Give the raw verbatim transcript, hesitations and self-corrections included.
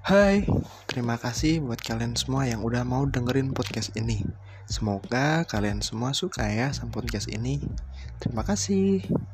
Hai, terima kasih buat kalian semua yang udah mau dengerin podcast ini. Semoga kalian semua suka ya sama podcast ini. Terima kasih.